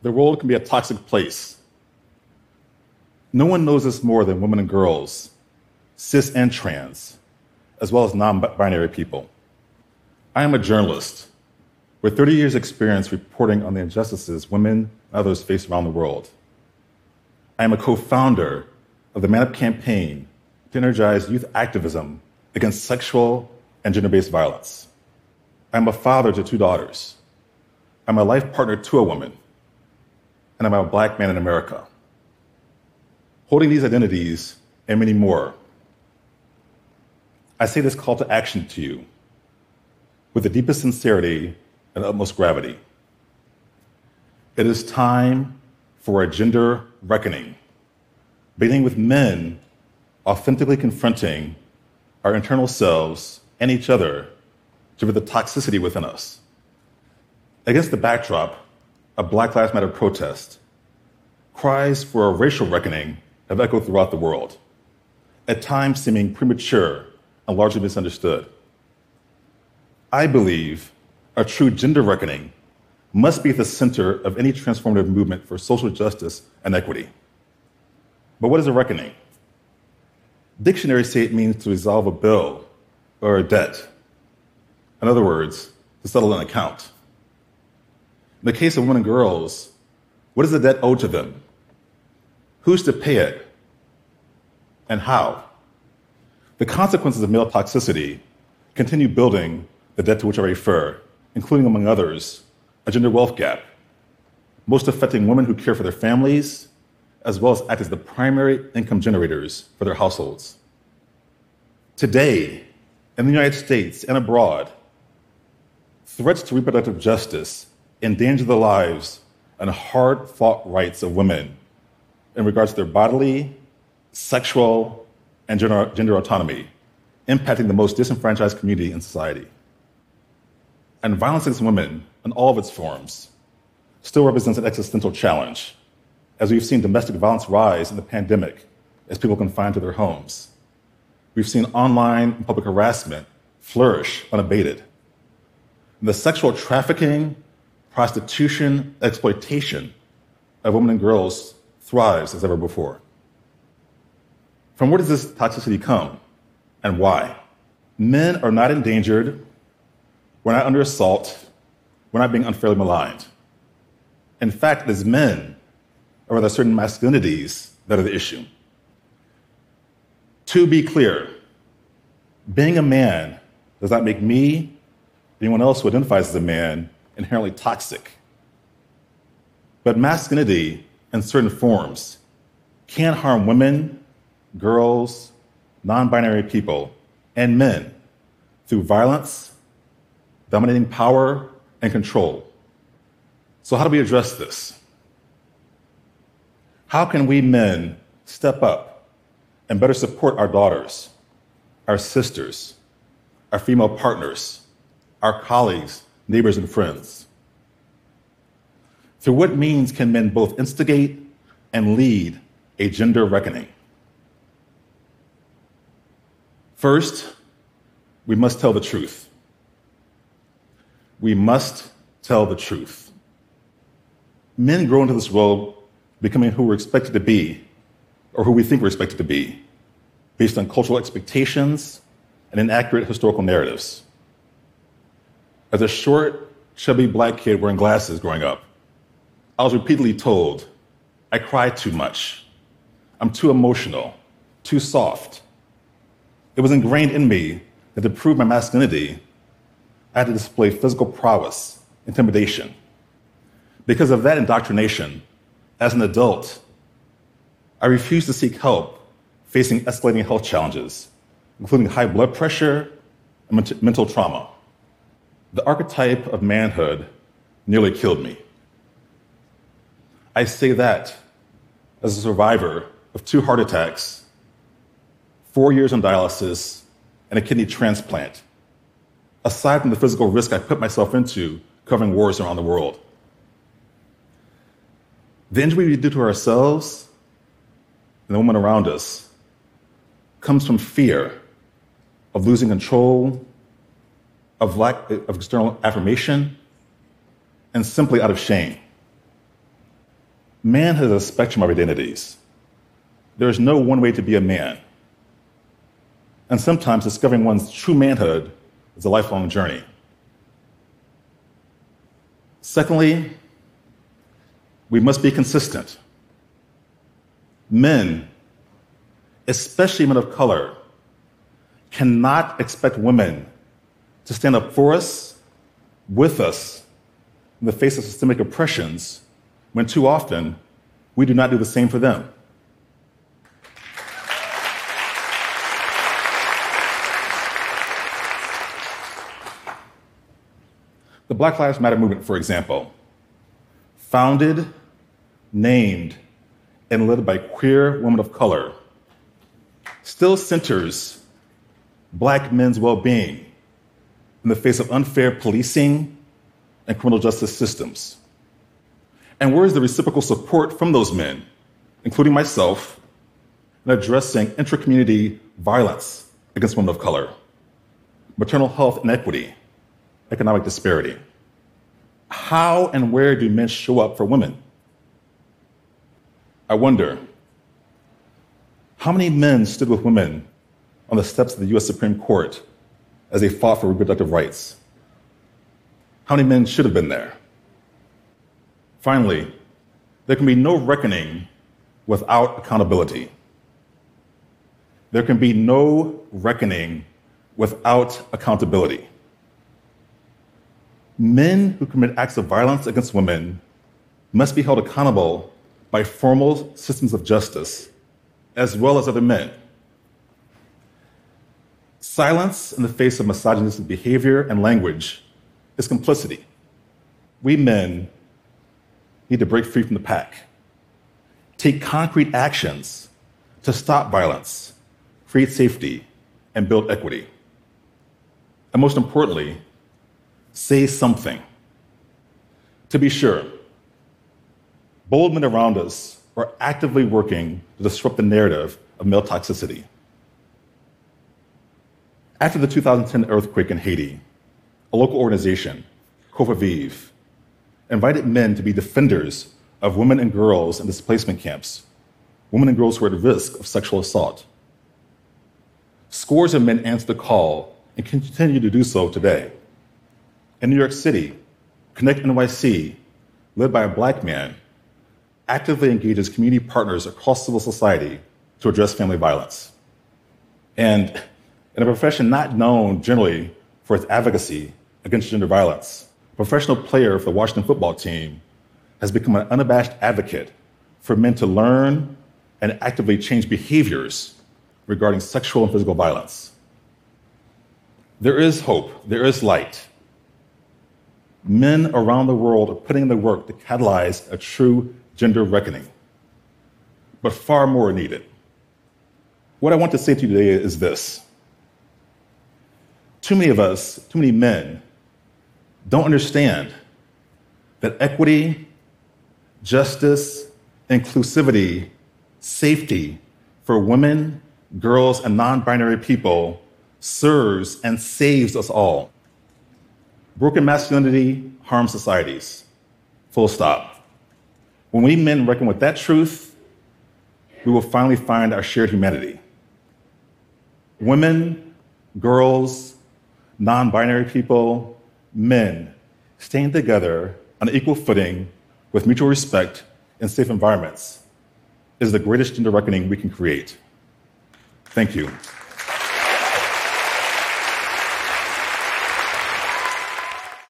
the world can be a toxic place. No one knows this more than women and girls, cis and trans, as well as non-binary people. I am a journalist with 30 years' experience reporting on the injustices women and others face around the world. I am a co-founder of the Man Up campaign to energize youth activism against sexual and gender-based violence. I'm a father to 2 daughters. I'm a life partner to a woman. And I'm a Black man in America. Holding these identities and many more, I say this call to action to you with the deepest sincerity and utmost gravity. It is time for a gender reckoning, beginning with men authentically confronting our internal selves and each other to rid the toxicity within us. Against the backdrop of Black Lives Matter protest, cries for a racial reckoning have echoed throughout the world, at times seeming premature and largely misunderstood. I believe a true gender reckoning must be at the center of any transformative movement for social justice and equity. But what is a reckoning? Dictionaries say it means to resolve a bill or a debt. In other words, to settle an account. In the case of women and girls, what is the debt owed to them? Who's to pay it? And how? The consequences of male toxicity continue building the debt to which I refer, including, among others, a gender wealth gap, most affecting women who care for their families, as well as act as the primary income generators for their households. Today, in the United States and abroad, threats to reproductive justice endanger the lives and hard-fought rights of women in regards to their bodily, sexual, and gender autonomy, impacting the most disenfranchised community in society. And violence against women, in all of its forms, still represents an existential challenge, as we've seen domestic violence rise in the pandemic as people confined to their homes. We've seen online and public harassment flourish unabated. And the sexual trafficking, prostitution, exploitation of women and girls thrives as ever before. From where does this toxicity come and why? Men are not endangered, we're not under assault, we're not being unfairly maligned. In fact, it is men, or rather certain masculinities, that are the issue. To be clear, being a man does not make me, anyone else who identifies as a man, inherently toxic. But masculinity, in certain forms, can harm women, girls, non-binary people, and men through violence, dominating power, and control. So how do we address this? How can we men step up and better support our daughters, our sisters, our female partners, our colleagues, neighbors, and friends? Through what means can men both instigate and lead a gender reckoning? First, we must tell the truth. We must tell the truth. Men grow into this world becoming who we're expected to be, or who we think we're expected to be, based on cultural expectations and inaccurate historical narratives. As a short, chubby Black kid wearing glasses growing up, I was repeatedly told, I cry too much, I'm too emotional, too soft. It was ingrained in me that to prove my masculinity, I had to display physical prowess, intimidation. Because of that indoctrination, as an adult, I refused to seek help facing escalating health challenges, including high blood pressure and mental trauma. The archetype of manhood nearly killed me. I say that as a survivor of 2 heart attacks, 4 years on dialysis, and a kidney transplant, aside from the physical risk I put myself into covering wars around the world. The injury we do to ourselves and the women around us comes from fear of losing control, of lack of external affirmation, and simply out of shame. Man has a spectrum of identities. There is no one way to be a man. And sometimes discovering one's true manhood is a lifelong journey. Secondly, we must be consistent. Men, especially men of color, cannot expect women to stand up for us, with us, in the face of systemic oppressions, when too often we do not do the same for them. The Black Lives Matter movement, for example, founded, named, and led by queer women of color, still centers Black men's well-being in the face of unfair policing and criminal justice systems. And where is the reciprocal support from those men, including myself, in addressing intra-community violence against women of color, maternal health inequity, economic disparity? How and where do men show up for women? I wonder, how many men stood with women on the steps of the US Supreme Court as they fought for reproductive rights? How many men should have been there? Finally, there can be no reckoning without accountability. There can be no reckoning without accountability. Men who commit acts of violence against women must be held accountable by formal systems of justice, as well as other men. Silence in the face of misogynistic behavior and language is complicity. We men need to break free from the pack, take concrete actions to stop violence, create safety, and build equity. And most importantly, say something. To be sure, bold men around us are actively working to disrupt the narrative of male toxicity. After the 2010 earthquake in Haiti, a local organization, COFAVIV, invited men to be defenders of women and girls in displacement camps, women and girls who are at risk of sexual assault. Scores of men answered the call and continue to do so today. In New York City, Connect NYC, led by a Black man, actively engages community partners across civil society to address family violence. And in a profession not known generally for its advocacy against gender violence, a professional player for the Washington football team has become an unabashed advocate for men to learn and actively change behaviors regarding sexual and physical violence. There is hope, there is light. Men around the world are putting in the work to catalyze a true gender reckoning. But far more are needed. What I want to say to you today is this. Too many of us, too many men, don't understand that equity, justice, inclusivity, safety for women, girls, and non-binary people serves and saves us all. Broken masculinity harms societies. Full stop. When we men reckon with that truth, we will finally find our shared humanity. Women, girls, non-binary people, men, staying together on an equal footing with mutual respect in safe environments is the greatest gender reckoning we can create. Thank you.